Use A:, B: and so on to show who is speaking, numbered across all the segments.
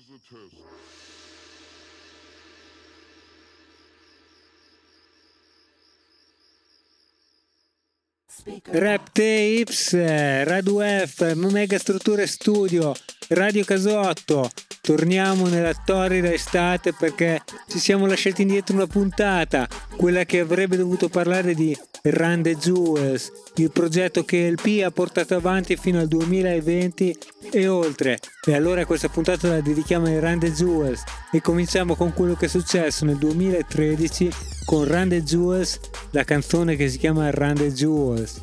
A: Rap Tapes, Radio F, Mega Strutture Studio, Radio Casotto. Torniamo nella torrida estate perché ci siamo lasciati indietro una puntata, quella che avrebbe dovuto parlare di Run the Jewels, il progetto che il P ha portato avanti fino al 2020 e oltre. E allora questa puntata la dedichiamo ai Run the Jewels e cominciamo con quello che è successo nel 2013 con Run the Jewels, la canzone che si chiama Run the Jewels.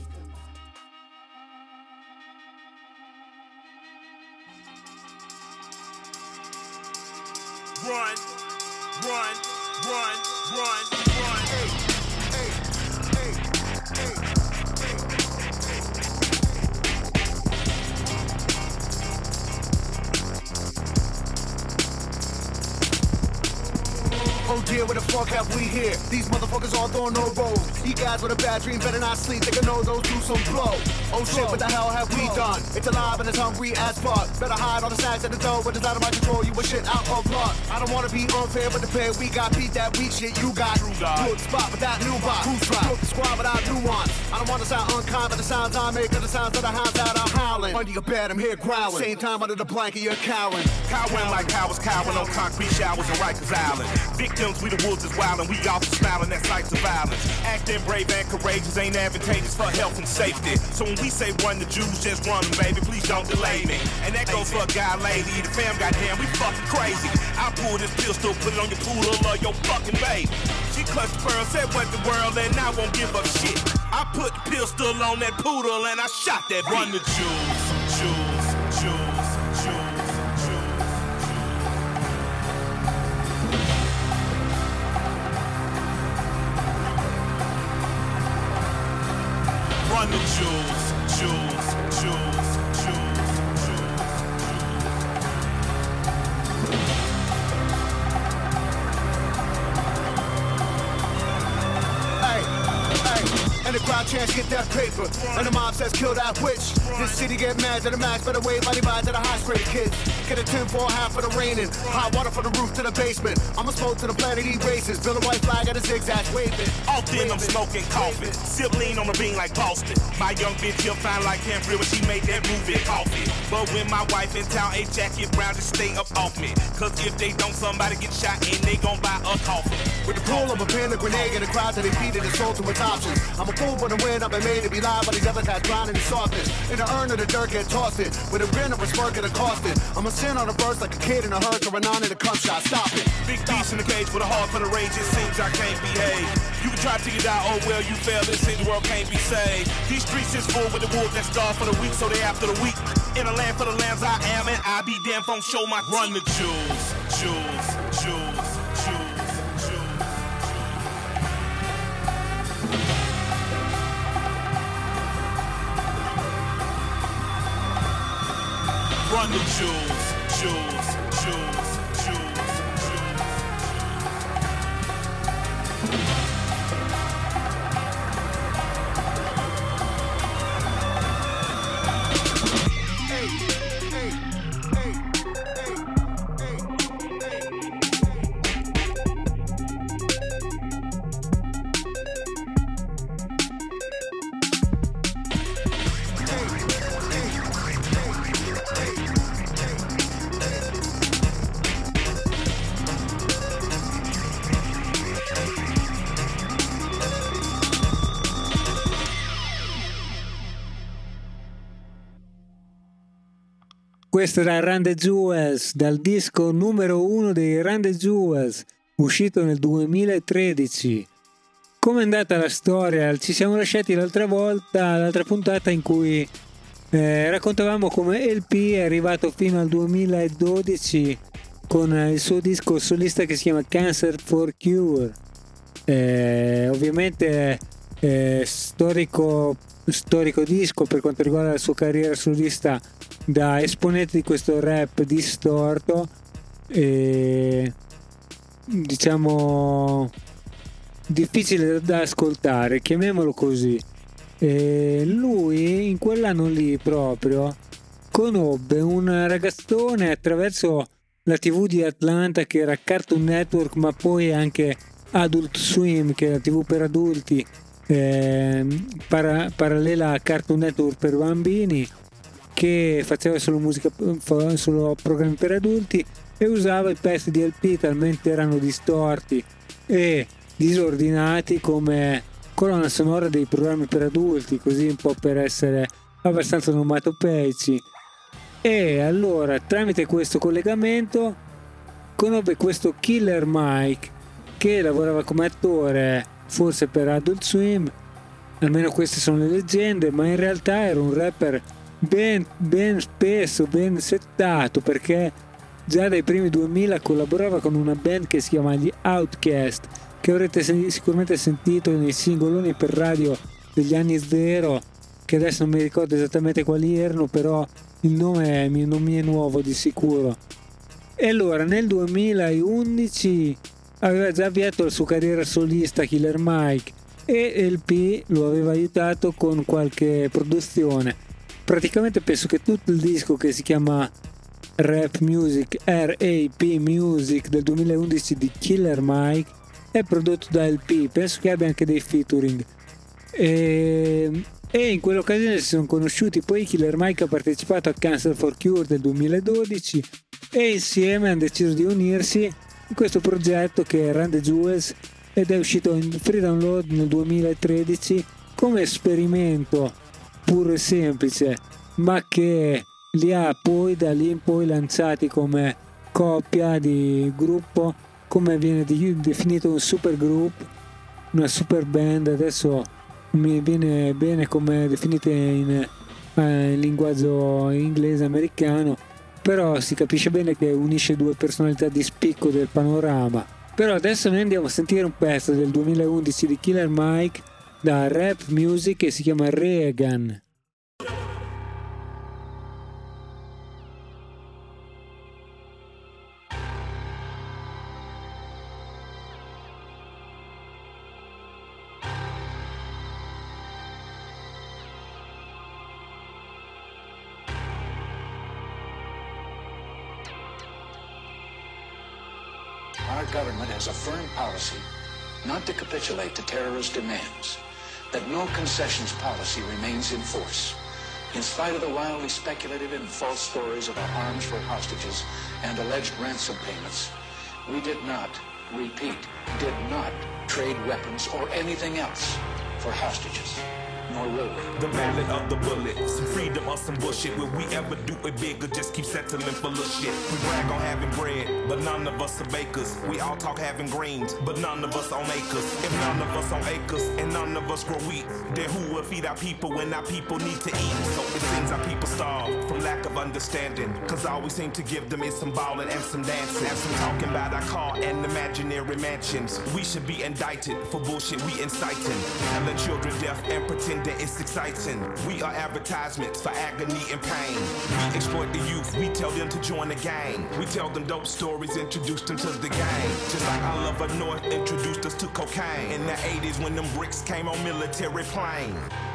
B: Oh dear, where the fuck have we here? These motherfuckers all throwing no rolls. You guys with a bad dream better not sleep. They can know those do some blow. Oh shit, what the hell have we done? It's alive and it's hungry as fuck. Better hide all the snacks at the door, but it's out of my control. You a shit out of luck. I don't wanna be unfair, but the pair we got beat that weak shit you got. Good spot without new box. Who's right? Good squad without nuance. I don't wanna sound unkind, but the sounds I make are the sounds of the hounds that are howling. Under your bed, I'm here growling. Same time under the blanket, you're cowering.
C: Cowering like cowards cowering on concrete showers on Rikers Island. Victims, we the wolves is wild and we all smiling at sights of violence. Acting brave and courageous ain't advantageous for health and safety. So when we say run the Jews, just run them, baby, please don't delay me. And that goes for a guy, lady, the fam, goddamn, we fucking crazy. I pull this pistol, put it on your poodle or your fucking baby. She clutched the pearl, said what the world, and I won't give up shit. I put the pistol on that poodle and I shot that bitch. Run the Jews, Jews, Jews, Jews. Run the jewels, jewels, jewels, jewels, jewels.
B: Hey, hey, and the crowd chants get that paper, and the mob says kill that witch. This city get mad to the max, better wave body by to the high grade kids. Get a 10 for half for the raining, hot water from the roof to the basement. I'ma smoke to the planet eat races, build a white flag at a zigzag waving.
C: Often I'm smoking coffee, sip lean on the bean like Boston. My young bitch she'll find like Cambria when she made that movie coffee. But when my wife in town, a jacket brown just stay up off me. Cause if they don't, somebody get shot and they gon' buy a coffin.
B: With the pull of a pin, a grenade, and the crowd that they beat it and sold to its options. I'm a fool for the win, I've been made to be live, but these other guys drowning in softness. In the urn of the dirt, get tossed it. With a grin of a smirk and a costed. I'm a sin on a verse like a kid in a hearse or a non in a cum shot. Stop it.
C: Big beast in the cage with a heart for the rage, it seems I can't behave. You can try to get out, oh well, you failed, it seems the world can't be saved. These streets is full with the wolves that starve for the weak, so they after the weak. In a land for the lambs I am, and I be damn phone show my run the jewels, jewels, jewels, jewels, jewels. Run the jewels, jewels, jewels, jewels, jewels.
A: Questo era Run the Jewels, dal disco numero 1 dei Run the Jewels, uscito nel 2013. Come è andata la storia? Ci siamo lasciati l'altra puntata in cui raccontavamo come LP è arrivato fino al 2012 con il suo disco solista che si chiama Cancer for Cure. Ovviamente storico disco per quanto riguarda la sua carriera solista, da esponente di questo rap distorto e diciamo difficile da ascoltare, chiamiamolo così. Lui in quell'anno lì proprio conobbe un ragazzone attraverso la TV di Atlanta, che era Cartoon Network, ma poi anche Adult Swim, che è la TV per adulti, parallela a Cartoon Network per bambini, che faceva solo musica, solo programmi per adulti, e usava i pezzi di LP talmente erano distorti e disordinati come colonna sonora dei programmi per adulti, così un po' per essere abbastanza onomatopeici. E allora, tramite questo collegamento, conobbe questo Killer Mike, che lavorava come attore forse per Adult Swim, almeno queste sono le leggende, ma in realtà era un rapper ben spesso, ben settato, perché già dai primi 2000 collaborava con una band che si chiama gli Outkast, che avrete sicuramente sentito nei singoloni per radio degli anni zero, che adesso non mi ricordo esattamente quali erano, però il nome non mi è nuovo di sicuro. E allora nel 2011 aveva già avviato la sua carriera solista Killer Mike, e LP lo aveva aiutato con qualche produzione. Praticamente penso che tutto il disco, che si chiama Rap Music, R.A.P. Music, del 2011 di Killer Mike, è prodotto da LP. Penso che abbia anche dei featuring, e in quell'occasione si sono conosciuti. Poi Killer Mike ha partecipato a Cancer for Cure del 2012 e insieme hanno deciso di unirsi in questo progetto che è Run the Jewels, ed è uscito in free download nel 2013 come esperimento puro e semplice, ma che li ha poi da lì in poi lanciati come coppia di gruppo, come viene definito un super group, una super band. Adesso mi viene bene come definite in linguaggio inglese americano, però si capisce bene che unisce due personalità di spicco del panorama. Però adesso noi andiamo a sentire un pezzo del 2011 di Killer Mike da Rap Music, che si chiama Reagan.
D: Our government has a firm policy not to capitulate to terrorist demands, that no concessions policy remains in force. In spite of the wildly speculative and false stories about arms for hostages and alleged ransom payments, we did not, repeat, did not trade weapons or anything else for hostages. Nor will we.
C: The ballad of the bullet, some freedom or some bullshit. Will we ever do it big or just keep settling for little shit? We brag on having bread, but none of us are bakers. We all talk having greens, but none of us own acres. If none of us own acres and none of us grow wheat, then who will feed our people when our people need to eat? So it seems our people starve from lack of understanding, cause all we seem to give them is some ballin' and some dancing, and some talking about our car and imaginary mansions. We should be indicted for bullshit we inciting, and let children deaf and pretend that it's exciting. We are advertisements for agony and pain. We exploit the youth, we tell them to join the gang. We tell them dope stories, introduce them to the game. Just like Oliver North introduced us to cocaine in the 80s when them bricks came on military plane.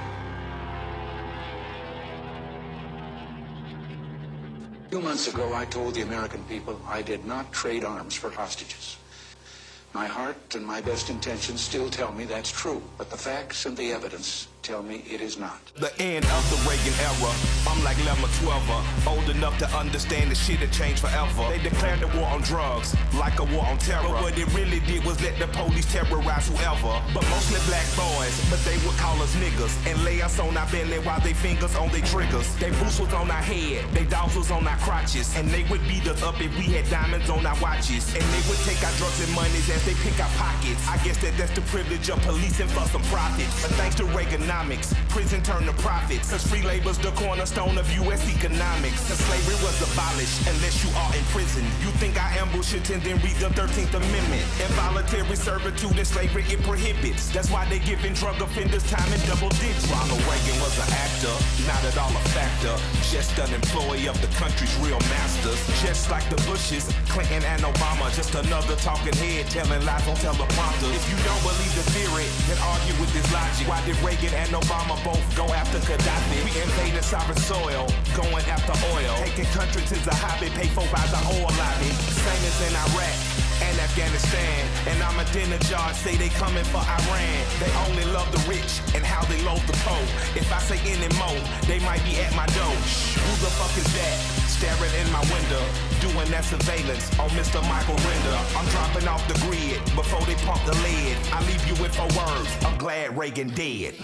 D: A few months ago, I told the American people I did not trade arms for hostages. My heart and my best intentions still tell me that's true, but the facts and the evidence tell me it is not.
C: The end of the Reagan era, I'm like Lemma 12, old enough to understand the shit had changed forever. They declared the war on drugs, like a war on terror, but what it really did was let the police terrorize whoever. But mostly black boys, but they would call us niggas, and lay us on our belly while they fingers on their triggers. They boots was on our head, they dogs was on our crotches, and they would beat us up if we had diamonds on our watches. And they would take our drugs and monies as they pick our pockets. I guess that's the privilege of policing for some profits. But thanks to Reaganomics, prison turned to profits, cause free labor's the cornerstone of U.S. economics. Cause slavery was abolished unless you are in prison. You think I ambush it and then read the 13th Amendment. Involuntary servitude and slavery it prohibits. That's why they giving drug offenders time in double digits. Ronald Reagan was an actor, not at all a factor. Just an employee of the country's real masters. Just like the Bushes, Clinton and Obama. Just another talking head telling lies on teleprompters. If you don't believe the theory, then argue with this logic. Why did Reagan and Obama both go after Gaddafi? We invaded sovereign soil, going after oil. Taking countries is a hobby, paid for by the oil lobby. Same as in Iraq and Afghanistan. And Ahmadinejad say they coming for Iran. They only love the rich and how they loathe the poor. If I say any more, they might be at my door. Who the fuck is that? Staring in my window, doing that surveillance on Mr. Michael Render. I'm dropping off the grid before they pump the lead. I leave you with 4 words, I'm glad Reagan dead.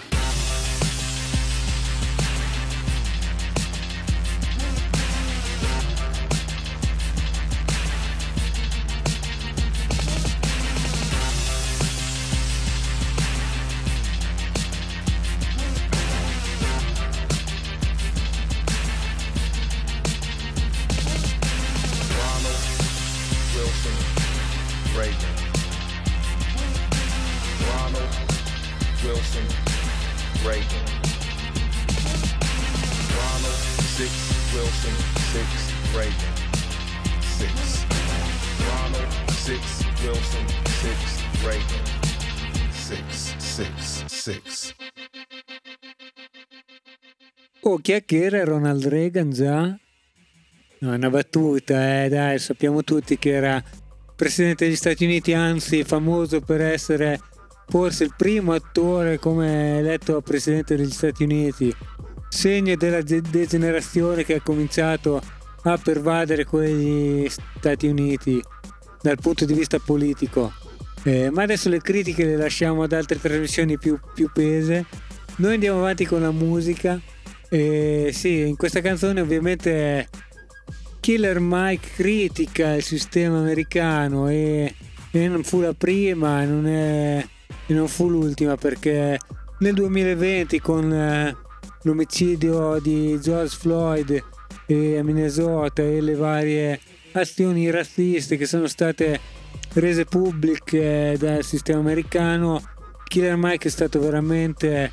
A: Oh, chi è che era Ronald Reagan già? No, è una battuta, dai, sappiamo tutti che era presidente degli Stati Uniti, anzi famoso per essere forse il primo attore come eletto presidente degli Stati Uniti, segno della degenerazione che ha cominciato a pervadere quegli Stati Uniti dal punto di vista politico. Ma adesso le critiche le lasciamo ad altre trasmissioni più pese. Noi andiamo avanti con la musica. Sì, in questa canzone ovviamente Killer Mike critica il sistema americano e non fu la prima e non fu l'ultima, perché nel 2020 con l'omicidio di George Floyd a Minnesota e le varie azioni razziste che sono state rese pubbliche dal sistema americano, Killer Mike è stato veramente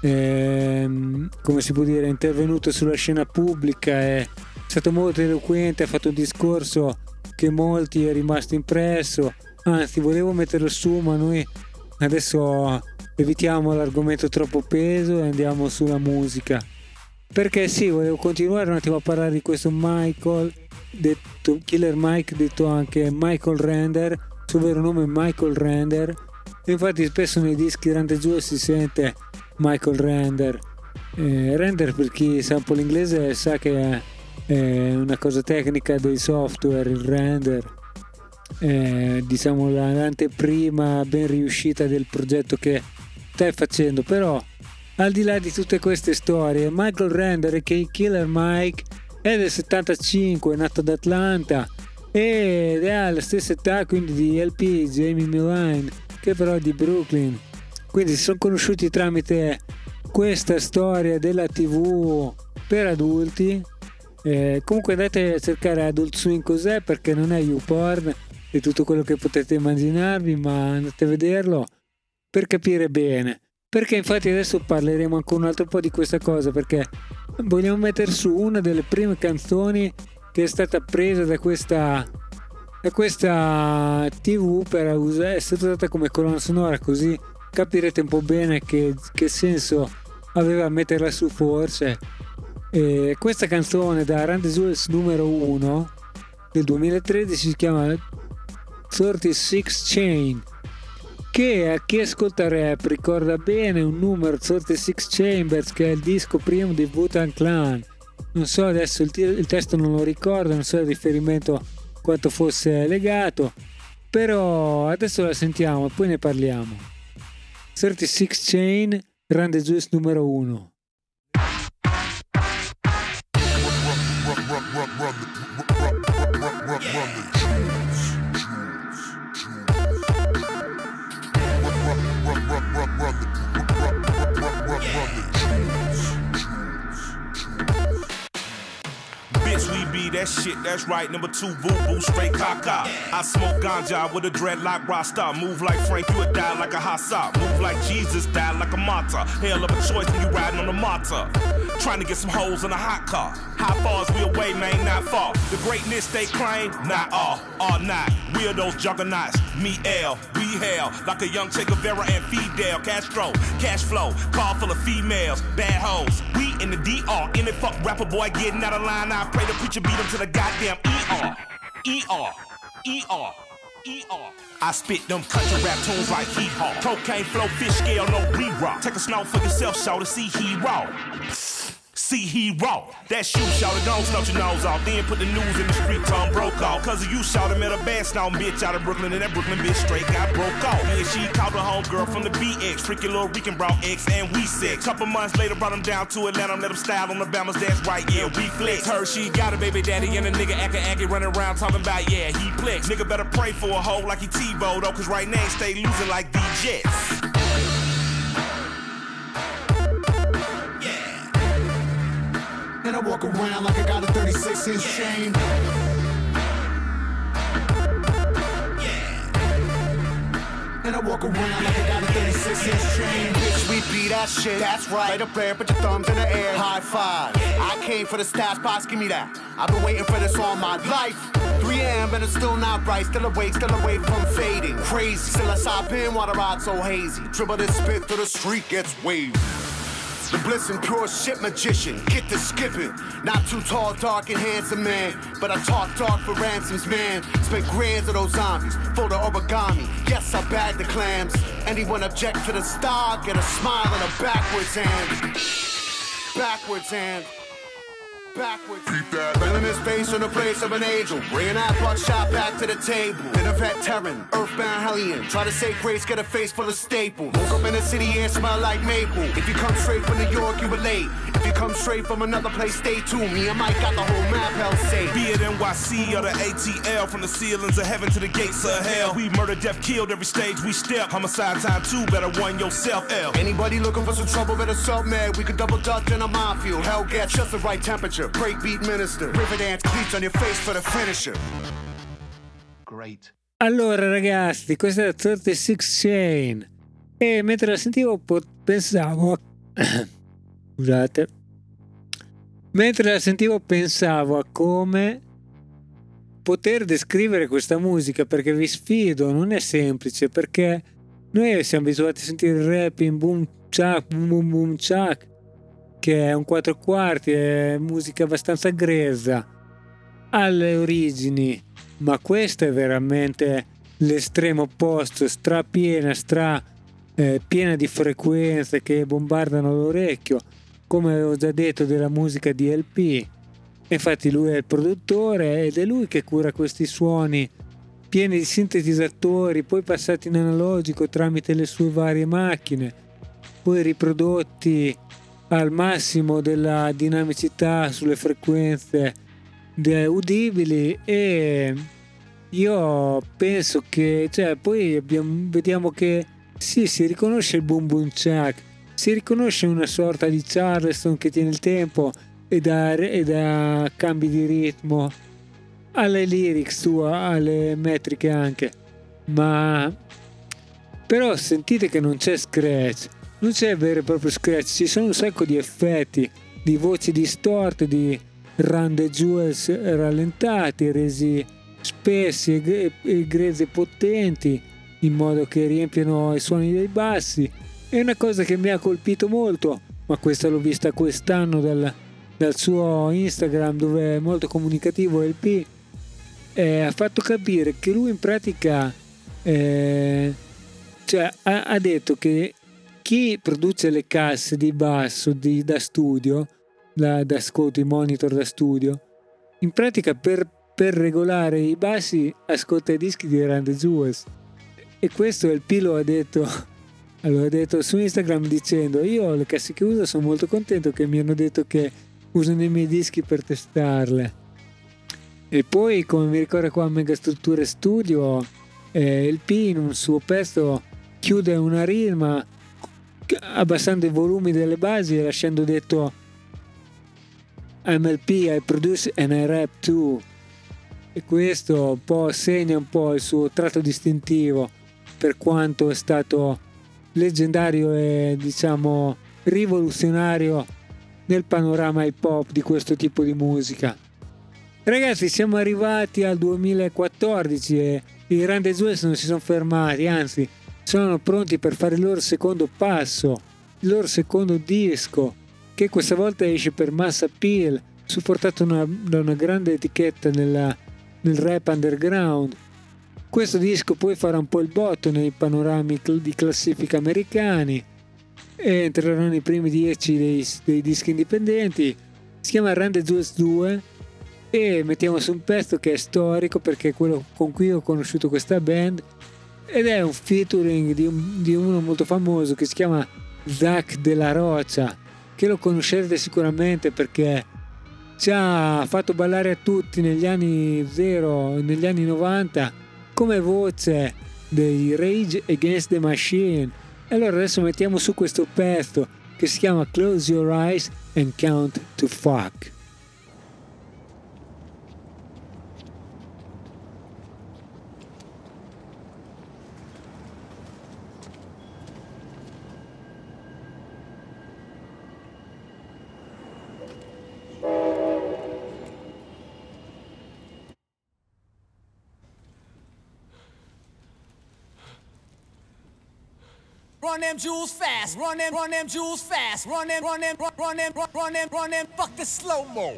A: come si può dire, intervenuto sulla scena pubblica, è stato molto eloquente, ha fatto un discorso che molti è rimasto impresso. Anzi, volevo metterlo su, ma noi adesso evitiamo l'argomento troppo peso e andiamo sulla musica, perché sì, volevo continuare un attimo a parlare di questo Michael, detto Killer Mike, detto anche Michael Render. Il suo vero nome è Michael Render, e infatti spesso nei dischi Run the Jewels si sente Michael Render. Render, per chi sa un po' l'inglese, sa che è una cosa tecnica dei software, il render, diciamo l'anteprima ben riuscita del progetto che stai facendo. Però al di là di tutte queste storie, Michael Render, che è Killer Mike, è del 75, è nato ad Atlanta ed è alla stessa età quindi di LP, Jamie Milline, che però è di Brooklyn. Quindi si sono conosciuti tramite questa storia della TV per adulti. Comunque andate a cercare Adult Swim cos'è, perché non è YouPorn e tutto quello che potete immaginarvi, ma andate a vederlo per capire bene. Perché infatti adesso parleremo ancora un altro po' di questa cosa, perché vogliamo mettere su una delle prime canzoni che è stata presa da questa TV per essere usata come colonna sonora, così capirete un po' bene che senso aveva metterla su forse. Questa canzone da Run the Jewels numero 1 del 2013 si chiama 36 Chain, che a chi ascolta rap ricorda bene un numero 36 Chambers, che è il disco primo di Wu-Tang Clan. Non so adesso il testo, non lo ricordo, non so il riferimento quanto fosse legato, però adesso la sentiamo e poi ne parliamo. 36 Chain, Run the Jewels numero 1.
C: Bitch, we be that shit, that's right. Number 2, boo-boo, straight caca. I smoke ganja with a dreadlock rasta. Move like Frank, you would die like a Hassa. Move like Jesus, die like a martyr. Hell of a choice when you riding on a martyr. Trying to get some holes in a hot car. How far is we away, man? Not far. The greatness they claim, not all not. We are those juggernauts. Me, L, we hell. Like a young Che Guevara and Fidel Castro. Cash flow, car full of females, bad hoes. We in the DR, in it fuck rapper boy getting out of line. I pray the preacher beat him to the goddamn ER. ER, ER, ER. I spit them country rap tunes like hee-haw. Cocaine flow, fish scale, no re-rock. Take a snout for yourself, shout to see hero. See hero. That's you, shout it, don't snout your nose off. Then put the news in the street, Tom broke off. Cause of you, shout him at a bad snout bitch out of Brooklyn. And that Brooklyn bitch straight got broke off. And she called her homegirl from the BX. Freaky little Rican brought X and we sex. Couple months later brought him down to Atlanta. Let him style on the Bamas, that's right, yeah, we flex. Her, she got a baby daddy and a nigga acting running around talking about, yeah, he flex. Nigga better pray for a hoe like he T-Bo though. Cause right now he stay losing like D-Jets.
B: And I walk around like I got a 36-inch chain. And I walk around like I got a 36-inch chain. Bitch, we beat that shit. That's right. Right up there, put your thumbs in the air. High five. I came for the stats box, give me that. I've been waiting for this all my life. 3 a.m. and it's still not bright. Still awake from fading. Crazy. Still a side pin while the ride so hazy. Dribble this spit through the street gets waved. The bliss and pure shit magician, get to skipping. Not too tall, dark and handsome man, but I talk dark for ransoms, man. Spent grands of those zombies, fold the origami. Yes, I bag the clams. Anyone object to the star, get a smile and a backwards hand. Backwards hand. Backwards. Keep that. Filling his face in the place of an angel. Bringing that buckshot back to the table. Been a veteran, earthbound hellion. Try to say grace, get a face full of staples. Woke up in the city and smell like maple. If you come straight from New York, you were late. If you come straight from another place, stay tuned. Me and Mike got the whole map hell safe.
C: Be it NYC or the ATL. From the ceilings of heaven to the gates of hell. We murder, death, killed every stage we step. Homicide time 2, better one yourself, L.
B: Anybody looking for some trouble, better self-mad. We could double dutch in a minefield. Hell gets just the right temperature. Breakbeat minister. River dance cleats on your face for the finisher.
D: Great.
A: Allora ragazzi, questa è 36 Chain. E mentre la sentivo pensavo scusate. Mentre la sentivo pensavo a come poter descrivere questa musica, perché vi sfido, non è semplice, perché noi siamo abituati a sentire il rap in boom chak, boom boom chak, che è un 4/4, è musica abbastanza grezza alle origini, ma questo è veramente l'estremo opposto, strapiena, piena di frequenze che bombardano l'orecchio, come avevo già detto della musica di LP. Infatti lui è il produttore ed è lui che cura questi suoni pieni di sintetizzatori, poi passati in analogico tramite le sue varie macchine, poi riprodotti al massimo della dinamicità sulle frequenze udibili. E io penso che, cioè, poi vediamo che sì, si riconosce il boom boom chak, si riconosce una sorta di Charleston che tiene il tempo e da cambi di ritmo alle lyrics sue, alle metriche anche, ma però sentite che non c'è scratch, non c'è vero e proprio scratch, ci sono un sacco di effetti, di voci distorte, di run the jewels rallentati, resi spessi e grezzi e potenti, in modo che riempiano i suoni dei bassi. È una cosa che mi ha colpito molto, ma questa l'ho vista quest'anno dal suo Instagram, dove è molto comunicativo LP. Ha fatto capire che lui in pratica cioè, ha detto che chi produce le casse di basso da studio, da ascolto, i monitor da studio, in pratica per regolare i bassi ascolta i dischi di Run the Jewels. E questo LP lo ha detto, allora ha detto su Instagram dicendo: io le casse che uso sono molto contento che mi hanno detto che usano i miei dischi per testarle. E poi, come mi ricorda qua Megastrutture Studio, LP in un suo pezzo chiude una rima abbassando i volumi delle basi e lasciando detto MLP, I Produce and I Rap Too, e questo un po' segna un po' il suo tratto distintivo, per quanto è stato leggendario e diciamo rivoluzionario nel panorama hip hop di questo tipo di musica. Ragazzi, siamo arrivati al 2014 e i Run the Jewels non si sono fermati, anzi sono pronti per fare il loro secondo passo, il loro secondo disco, che questa volta esce per Mass Appeal, supportato da una grande etichetta nel rap underground. Questo disco poi farà un po' il botto nei panorami di classifica americani e entrerà nei primi 10 dei dischi indipendenti. Si chiama Run the Jewels 2 e mettiamo su un pezzo che è storico perché è quello con cui ho conosciuto questa band, ed è un featuring di uno molto famoso che si chiama Zack de la Rocha, che lo conoscerete sicuramente perché ci ha fatto ballare a tutti negli anni 90 come voce dei Rage Against the Machine. E allora adesso mettiamo su questo pezzo che si chiama Close Your Eyes and Count to Fuck.
E: Run them jewels fast, run them jewels fast, run them, fuck the slow-mo.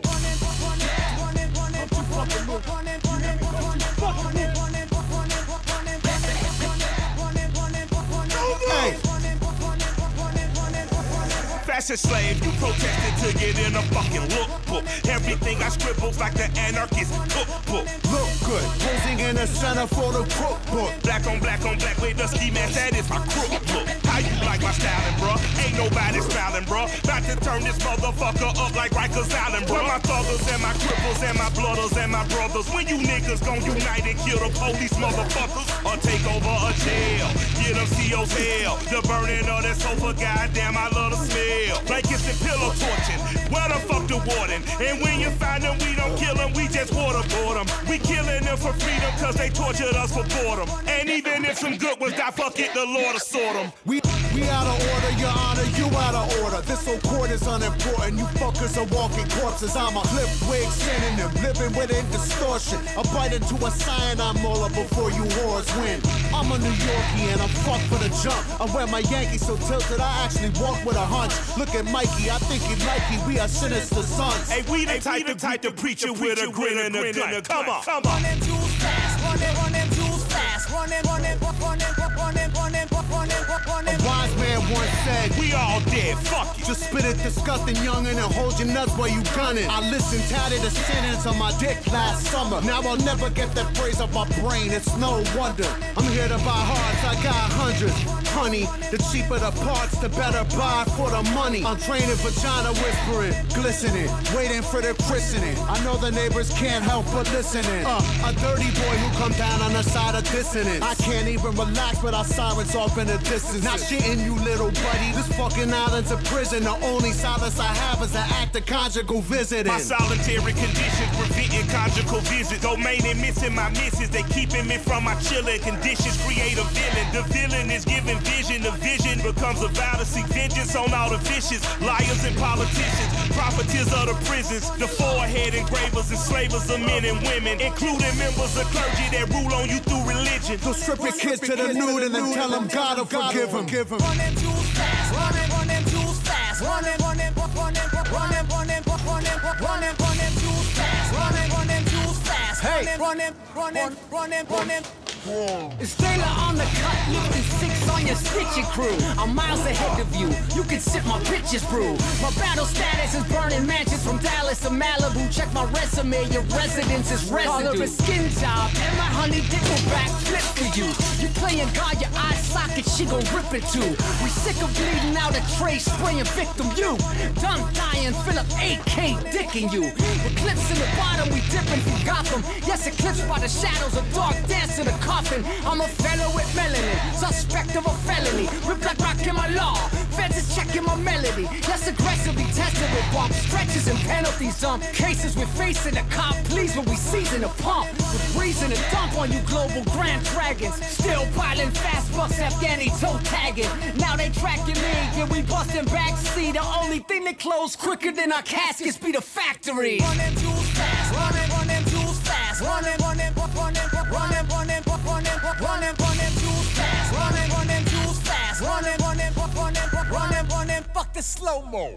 C: Fashion slave, you protested to get in a fucking lookbook. Everything I scribbled like the anarchist cookbook.
B: Look good, posing in the center for the cookbook.
C: Black on black with the ski mask, that is my crook look. How you like my styling, bruh? Ain't nobody smiling, bruh. About to turn this motherfucker up like Rikers Island, bruh. My thuggers and my cripples and my blooders and my brothers. When you niggas gon' unite and kill the police motherfuckers, or take over a jail, get them CO's hell. The burning of that sofa, goddamn, I love the smell. Blankets and pillow torching, where the fuck the warden? And when you find them, we don't kill them, we just waterboard them. We killing them for freedom, cause they tortured us for boredom. And even if some good ones die, fuck it, the Lord will sort them.
B: We out of order, your honor, you out of order. This whole court is unimportant, you fuckers are walking corpses. I'm a clip wig synonym, living within distortion. I bite into a cyanide molar before you whores win. I'm a New Yorkie and I'm fucked for the jump. I wear my Yankees so tilted, I actually walk with a hunch. Look at Mikey, I think he like me, we are sinister sons.
C: Hey, we the type to preach it with a grin and a gun. Come on.
E: Run them jewels fast, run them jewels fast, run them.
B: A wise man once said,
C: we all dead, fuck you.
B: just spit it disgusting youngin' and hold your nuts while you gunning. I listened tatted the sentence on my dick last summer. Now I'll never get that phrase off my brain, it's no wonder. I'm here to buy hearts, I got hundreds. Honey, the cheaper the parts, the better buy for the money. I'm training vagina whispering, glistening, waiting for the christening. I know the neighbors can't help but listening. A dirty boy who come down on the side of dissonance. I can't even relax without sirens off in the distance. Not shitting you, little buddy. This fucking island's a prison. The only solace I have is an act of conjugal visiting.
C: My solitary conditions preventing conjugal visits. Domain and missing my misses. They keeping me from my chilling conditions. Create a villain. The villain is giving vision. The vision becomes a vow to seek vengeance on all the vicious liars and politicians. Profiteers of the prisons. The forehead engravers, enslavers of men and women, including members of clergy that rule on you through religion.
B: So strip your kids to the nude and then tell them God will forgive them.
E: Run them jewels fast, run them jewels fast, run them jewels fast, run them jewels fast,
B: Hey,
E: run them.
F: It's Taylor on the cut, lifting 6 on your stitching crew. I'm miles ahead of you, you can sip my bitches brew. My battle status is burning mansions from Dallas to Malibu. Check my resume, your residence is residue. Call her a skin job, and my honey dick will backflip for you. You playing God, your eye socket, she gon' rip it too. We sick of bleeding out a tray, spraying victim you. Done dying, Philip AK dicking you. Eclipse in the bottom, we dipping from Gotham. Yes, eclipsed by the shadows, a dark dance in the coffin. I'm a fellow with melanin, suspect of a felony. Rip like rock in my law, feds is checking my melody. reality. Let's aggressively test it with bumps, stretches and penalties. Cases we're facing a cop, please, when we season a pump. With reason to dump on you global grand dragons. Still piling fast bucks, Afghani toe tagging. Now they tracking me, yeah, we busting backseat. The only thing that close quicker than our caskets be the factory.
E: Run them jewels fast, run them jewels fast, run them jewels fast, run them jewels fast, run them, fuck the slow-mo.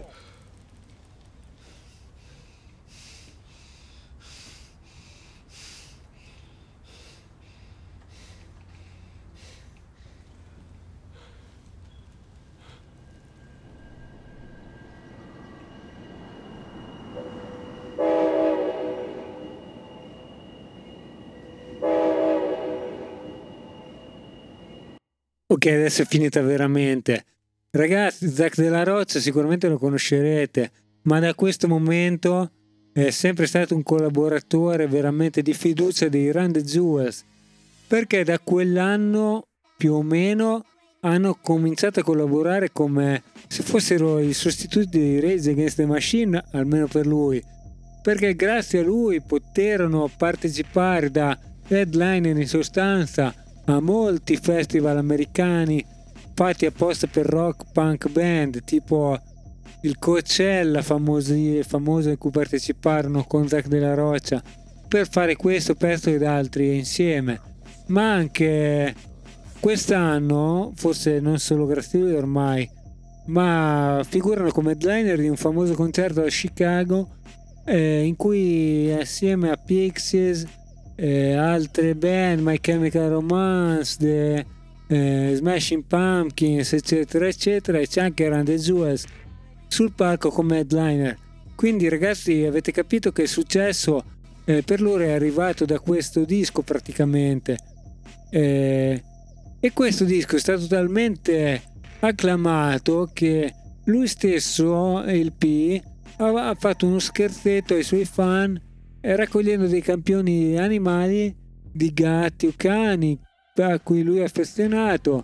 A: Ok, adesso è finita veramente. Ragazzi, Zack della Roccia sicuramente lo conoscerete, ma da questo momento è sempre stato un collaboratore veramente di fiducia dei Run the Jewels, perché da quell'anno più o meno hanno cominciato a collaborare come se fossero i sostituti di Rage Against the Machine, almeno per lui, perché grazie a lui poterono partecipare da headliner in sostanza a molti festival americani fatti apposta per rock punk band, tipo il Coachella famoso in cui parteciparono con Zack della Roccia per fare questo pezzo ed altri insieme. Ma anche quest'anno, forse non solo grazie a lui ormai, ma figurano come headliner di un famoso concerto a Chicago in cui assieme a Pixies, altre band, My Chemical Romance, Smashing Pumpkins, eccetera eccetera, e c'è anche Run the Jewels sul palco come headliner. Quindi ragazzi, avete capito che il successo per loro è arrivato da questo disco praticamente, e questo disco è stato talmente acclamato che lui stesso, il P, ha fatto uno scherzetto ai suoi fan raccogliendo dei campioni animali di gatti o cani a cui lui è affezionato,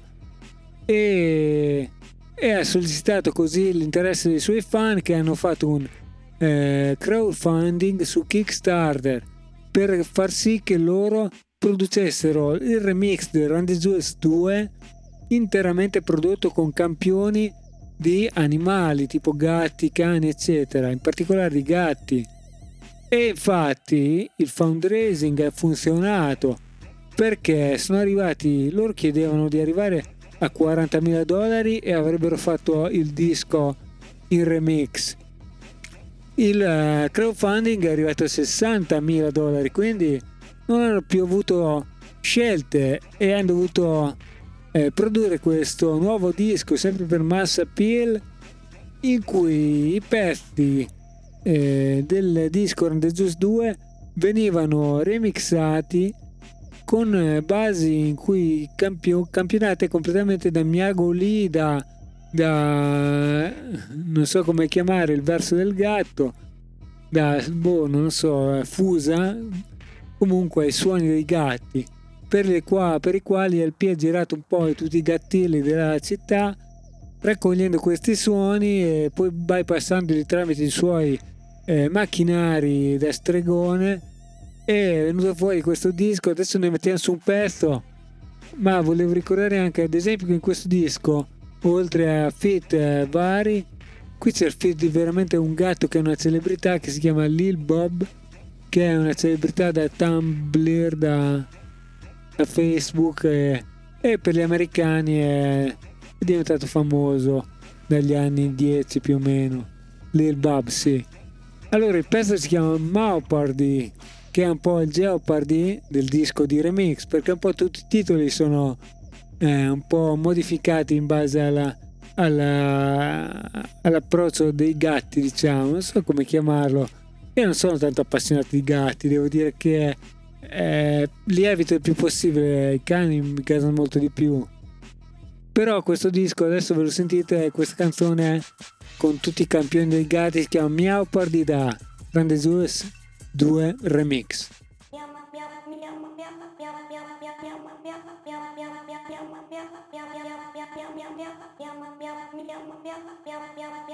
A: e ha sollecitato così l'interesse dei suoi fan, che hanno fatto un crowdfunding su Kickstarter per far sì che loro producessero il remix del Run the Jewels 2 interamente prodotto con campioni di animali tipo gatti, cani eccetera, in particolare di gatti. E infatti il fundraising ha funzionato, perché sono arrivati, loro chiedevano di arrivare a $40.000 e avrebbero fatto il disco in remix. Il crowdfunding è arrivato a $60.000, quindi non hanno più avuto scelte e hanno dovuto produrre questo nuovo disco sempre per Mass Appeal, in cui i pezzi del disco Run the Jewels 2 venivano remixati con basi in cui campionate completamente da Miago Lee, da non so come chiamare il verso del gatto, non so, Fusa, comunque i suoni dei gatti, per i quali LP ha girato un po' tutti i gattilli della città raccogliendo questi suoni e poi bypassandoli tramite i suoi macchinari da stregone. È venuto fuori questo disco. Adesso ne mettiamo su un pezzo, ma volevo ricordare anche ad esempio che in questo disco, oltre a feat vari, qui c'è il feat di veramente un gatto che è una celebrità, che si chiama Lil Bob, che è una celebrità da Tumblr, da Facebook, e per gli americani è diventato famoso dagli anni 10 più o meno. Lil Bob, sì. Allora il pezzo si chiama Jeopardy, che è un po' il Jeopardy del disco di remix, perché un po' tutti i titoli sono un po' modificati in base all'approccio dei gatti, diciamo, non so come chiamarlo. Io non sono tanto appassionato di gatti, devo dire che li evito il più possibile, i cani mi casano molto di più. Però questo disco, adesso ve lo sentite, questa canzone con tutti i campioni dei gatti, si chiama Jeopardy da Run the Jewels 2 Remix.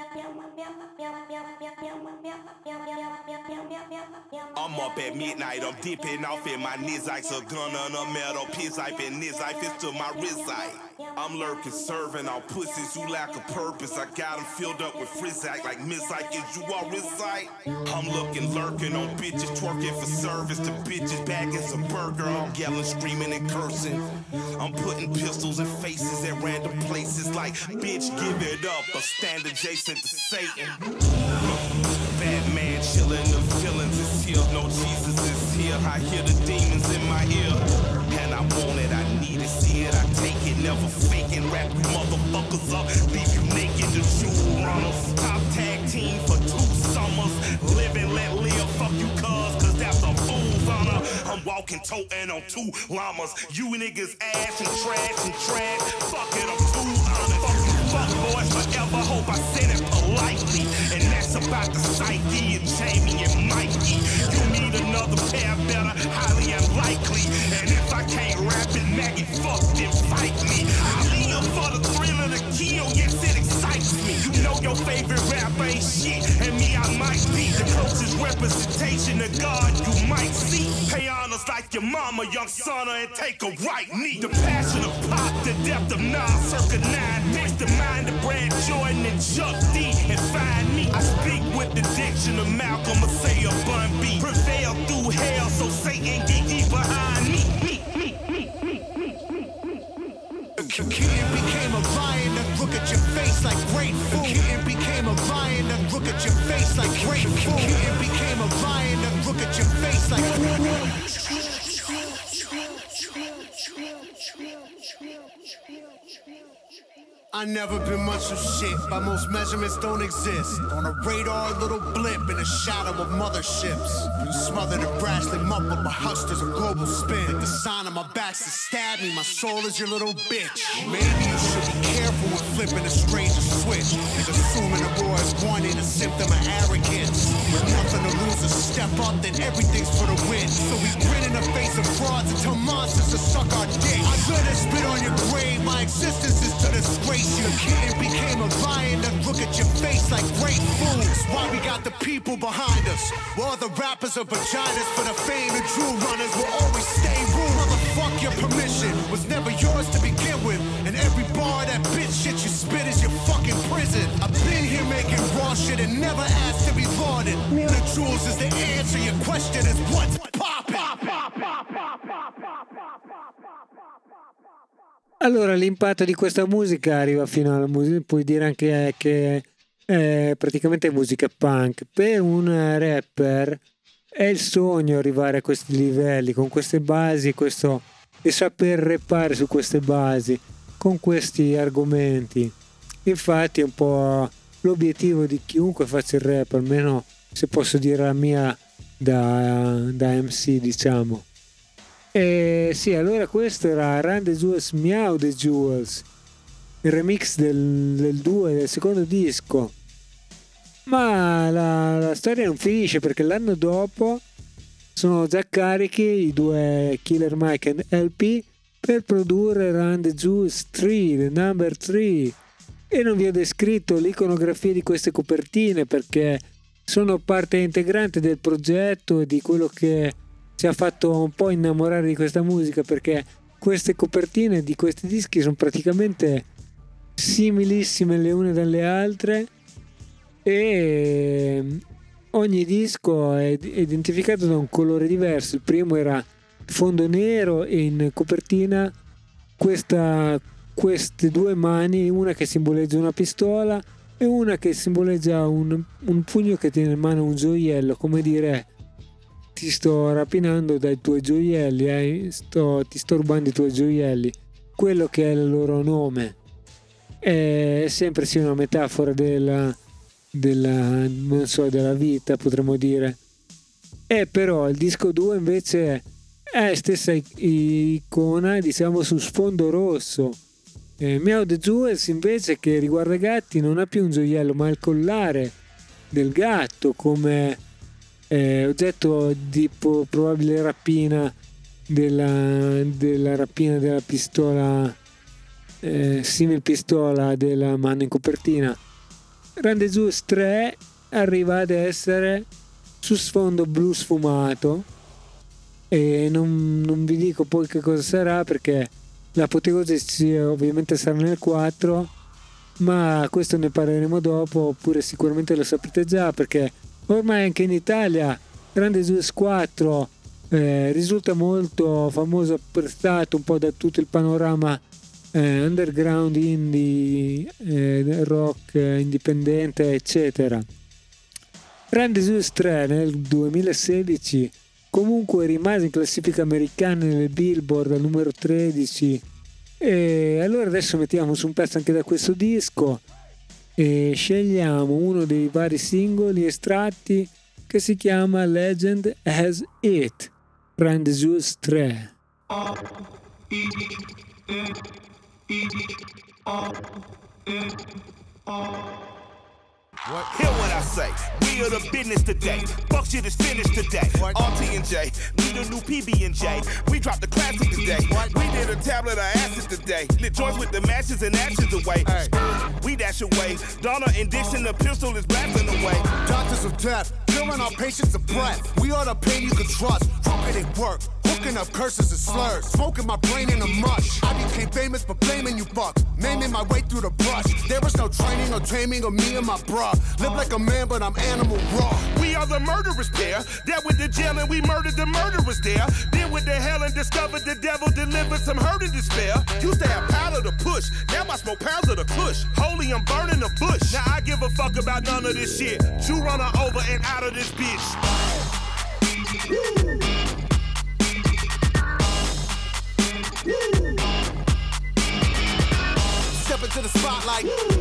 C: I'm up at midnight, I'm dipping off in my Nizikes, a gun on a metal piss pipe and Nizife is to my wrist eye. I'm lurking, serving on pussies who lack a purpose. I got them filled up with frizzak like Mizike, is you all recite? I'm looking, lurking on bitches, twerking for service to bitches, bagging some burger. I'm yelling, screaming and cursing. I'm putting pistols in faces at random places like, bitch, give it up, or stand adjacent to Satan. Batman chillin', the feelings is here, no Jesus is here. I hear the demons in my ear, and I want it, I need it, see it, I take it, never faking. Wrap you motherfuckers up, leave you naked, the jewel runners. Top tag team for 2 summers, live and let live, fuck you cuz that's a fool's honor. I'm walking, toting on 2 llamas, you niggas ass and trash, fuck it, I'm too honest. Fuck boys forever, hope I said it politely. And that's about the psyche and Jamie and Mikey. You need another pair better, highly unlikely. And if I can't rap it, Maggie, fuck, then fight me. I live for the thrill of the kill, yes, it excites me. You know your favorite rapper ain't shit, and me, I might be the closest representation of God you might see. Pay honors like your mama, young son, and take a right knee. The passion of pop, the depth of Nas, circa 9. Mix the mind of Brad Jordan and Chuck D, and find me. I speak with the diction of Malcolm, or say a Bun B. Prevail through hell, so Satan get ye behind me.
B: The kitten became a lion that look at your face like great food. The kitten became a lion that look at your face like great food. The kitten became a lion that look at your face like I never been much of shit, by most measurements don't exist. On a radar, a little blip in the shadow of motherships. You smothered and brashly muffled by hustlers of global spin. Like the sign on my back's to stab me, my soul is your little bitch. Maybe you should be careful when flipping a stranger's switch. And assuming a boy is one ain't a symptom of arrogance. With nothing to lose, a step up, then everything's for the win. So we grin in the face of frauds and tell monsters to suck our dick. I let it spit on your grave, my existence is to disgrace. The kitten became a lion that look at your face like great fools. Why we got the people behind us? While the rappers are vaginas for the fame and true runners will always stay rude. Motherfuck your permission was never yours to begin with. And every bar that bitch shit you spit is your fucking prison. I've been here making raw shit and never asked to be lauded. The jewels is the answer, your question is what's poppin'?
A: Allora, l'impatto di questa musica arriva fino alla musica, puoi dire anche che è praticamente musica punk. Per un rapper è il sogno arrivare a questi livelli, con queste basi, e saper rappare su queste basi, con questi argomenti. Infatti è un po' l'obiettivo di chiunque faccia il rap, almeno se posso dire la mia da MC, diciamo. E sì, allora questo era Run the Jewels, Meow the Jewels, il remix del secondo disco. Ma la storia non finisce, perché l'anno dopo sono già carichi i due Killer Mike e LP per produrre Run the Jewels 3, the number 3. E non vi ho descritto l'iconografia di queste copertine, perché sono parte integrante del progetto e di quello che ci ha fatto un po' innamorare di questa musica, perché queste copertine di questi dischi sono praticamente similissime le une dalle altre e ogni disco è identificato da un colore diverso. Il primo era fondo nero e in copertina queste due mani, una che simboleggia una pistola e una che simboleggia un pugno che tiene in mano un gioiello, come dire: ti sto rapinando dai tuoi gioielli, ti sto rubando i tuoi gioielli, quello che è il loro nome. È sempre sì una metafora della vita, potremmo dire. E però il disco 2 invece è stessa icona, diciamo, su sfondo rosso. Meow the Jewels invece, che riguarda i gatti, non ha più un gioiello ma il collare del gatto come oggetto di probabile rapina della rapina della pistola, simil pistola della mano in copertina. Rendezvous 3 arriva ad essere su sfondo blu sfumato, e non vi dico poi che cosa sarà, perché l'apoteosi ovviamente sarà nel 4, ma questo ne parleremo dopo, oppure sicuramente lo saprete già, perché ormai anche in Italia Rendezvous 4 risulta molto famoso, apprezzato un po' da tutto il panorama underground, indie, rock, indipendente, eccetera. Rendezvous 3 nel 2016 comunque rimase in classifica americana nel Billboard al numero 13, e allora adesso mettiamo su un pezzo anche da questo disco e scegliamo uno dei vari singoli estratti, che si chiama Legend Has It, Rendezvous 3.
C: Hear what I say, we are the business today. Fuck shit is finished today. RT&J, we the new PB&J. We dropped the classic today. We did a tablet of acid today. Lit joints with the matches and ashes away. We dash away. Donna and Dixon, the pistol is blasting away.
B: Doctors of death, killing our patients of breath. We are the pain you can trust. Crooked at work, hooking up curses and slurs. Smoking my brain in a mush. I became famous for blaming you fucks. Maiming my way through the brush. There was no training or taming of me and my bruh. Live like a man, but I'm animal raw.
C: We are the murderers pair. Dealt with the jail and we murdered the murderers there. Deal with the hell and discovered the devil delivered some hurt and despair. Used to have powder to push. Now I smoke pounds of the kush. Holy, I'm burning the bush. Now I give a fuck about none of this shit. You run her over and out of this bitch.
B: Step into the spotlight.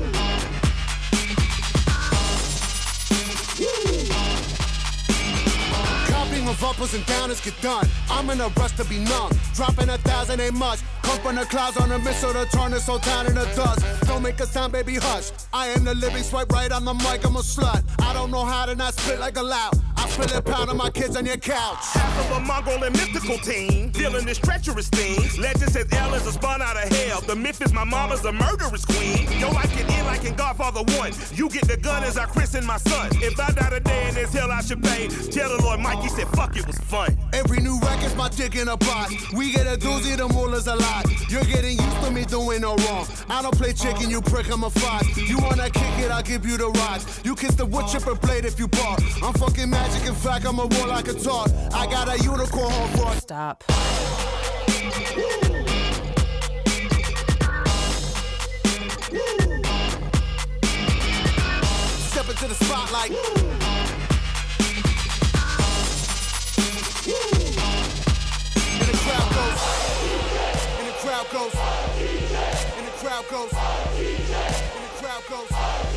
B: Copying of uppers and downers get done. I'm in a rush to be numb. Dropping 1,000 ain't much. Come from the clouds on a missile to turn this whole town into dust. Don't make a sound, baby, hush. I am the living swipe right on the mic, I'm a slut. I don't know how to not spit like a loud. I spill it pound on my kids on your couch.
C: Half of a Mongol and mystical team, dealing this treacherous thing. Legend says L is a spawn out of hell. The myth is my mama's a murderous queen. Yo, like it in like in Godfather 1. You get the gun as I christen my son. If I die today in this hell, I should pay. Tell the Lord Mikey said, fuck, it was fun.
B: Every new record's my dick in a box. We get a doozy, the mullah's a lot. You're getting used to me doing no wrong. I don't play chicken, you prick, I'm a fox. You wanna kick it, I'll give you the rocks. You kiss the wood chipper blade if you bark. I'm fucking magic, in fact, I'm a war like a talk. I got a unicorn horn for a
E: Stop.
B: Step into the spotlight. And the crowd goes. And the crowd goes. And the crowd goes. And the crowd goes.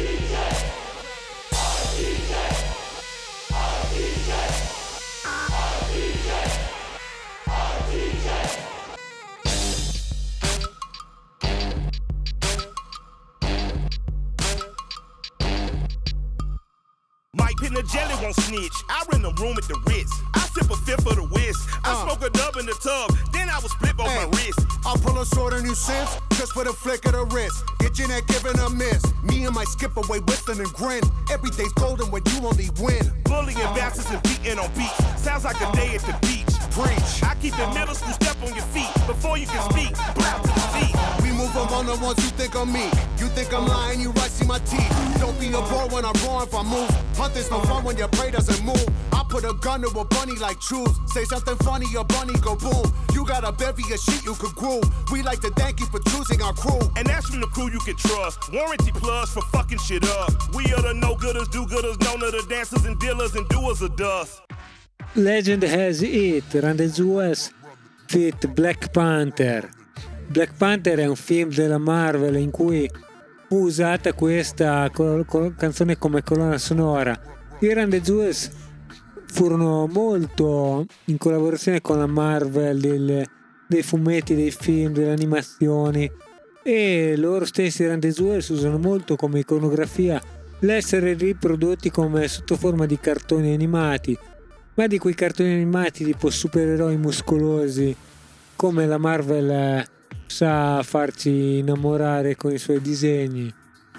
C: Mike Pin the jelly won't snitch. I rent a room at the Ritz. I sip a fifth of the whisk. I smoke a dub in the tub. Then I was split on my wrist.
B: I'll pull a sword on you since, just for the flick of the wrist. Get your neck given a miss. Me and my skip away whistling and grin. Every day's golden when you only win.
C: Bullying bastards and beating on beats. Sounds like a day at the beach.
B: Preach.
C: I keep the middle school step on your feet. Before you can speak, blow to the feet.
B: We move from on the ones you think I'm me. You think I'm lying, you right, see my teeth. Don't be a bore when I'm raw if I move. Hunting's no fun when your prey doesn't move. I put a gun to a bunny like truth. Say something funny, your bunny go boom. You got a bevy of shit you could groove. We like to thank you for choosing our crew.
C: And that's from the crew you can trust. Warranty plus for fucking shit up. We are the no-gooders, do-gooders, known to the dancers and dealers and doers of dust.
A: Legend Has It, Rendezvous fit Black Panther. Black Panther è un film della Marvel in cui fu usata questa canzone come colonna sonora. I Rendezvous furono molto in collaborazione con la Marvel dei fumetti, dei film, delle animazioni, e loro stessi Rendezvous usano molto come iconografia l'essere riprodotti come sotto forma di cartoni animati, ma di quei cartoni animati tipo supereroi muscolosi come la Marvel sa farci innamorare con i suoi disegni.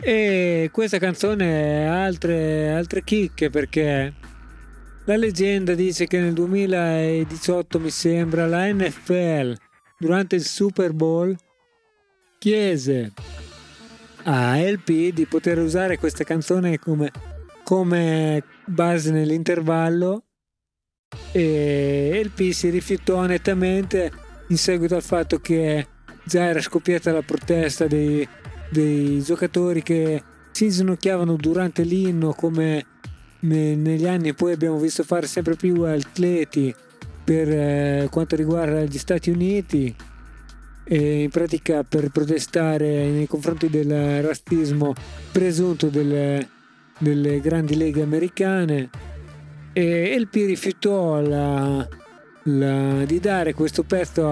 A: E questa canzone ha altre chicche, perché la leggenda dice che nel 2018, mi sembra, la NFL durante il Super Bowl chiese a LP di poter usare questa canzone come base nell'intervallo, e LP si rifiutò nettamente in seguito al fatto che già era scoppiata la protesta dei giocatori che si inginocchiavano durante l'inno, come negli anni poi abbiamo visto fare sempre più atleti per quanto riguarda gli Stati Uniti, e in pratica per protestare nei confronti del razzismo presunto delle grandi leghe americane. E LP rifiutò di dare questo pezzo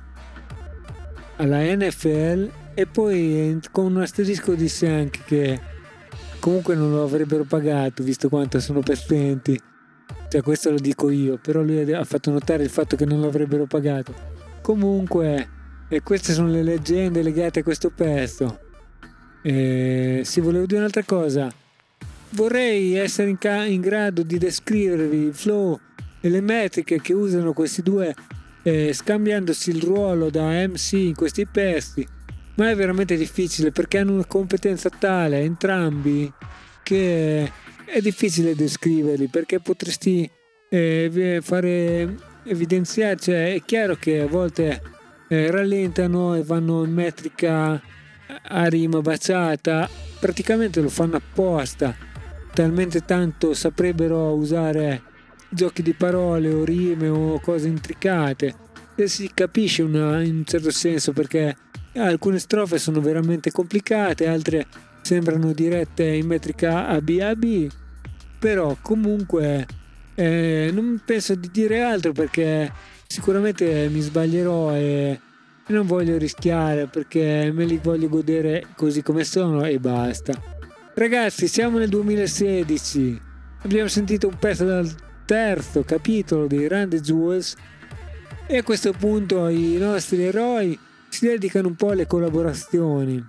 A: alla NFL, e poi con un asterisco disse anche che comunque non lo avrebbero pagato, visto quanto sono pezzenti. Cioè, questo lo dico io, però lui ha fatto notare il fatto che non lo avrebbero pagato. Comunque, queste sono le leggende legate a questo pezzo. Sì, volevo dire un'altra cosa. Vorrei essere in grado di descrivervi il flow e le metriche che usano questi due, scambiandosi il ruolo da MC in questi pezzi, ma è veramente difficile perché hanno una competenza tale entrambi che è difficile descriverli, perché potresti fare evidenziare, cioè è chiaro che a volte rallentano e vanno in metrica a rima baciata, praticamente lo fanno apposta, talmente tanto saprebbero usare giochi di parole o rime o cose intricate, e si capisce in un certo senso, perché alcune strofe sono veramente complicate, altre sembrano dirette in metrica ABAB, però comunque non penso di dire altro, perché sicuramente mi sbaglierò e non voglio rischiare, perché me li voglio godere così come sono e basta. Ragazzi, siamo nel 2016, abbiamo sentito un pezzo dal terzo capitolo di Run the Jewels, e a questo punto i nostri eroi si dedicano un po' alle collaborazioni,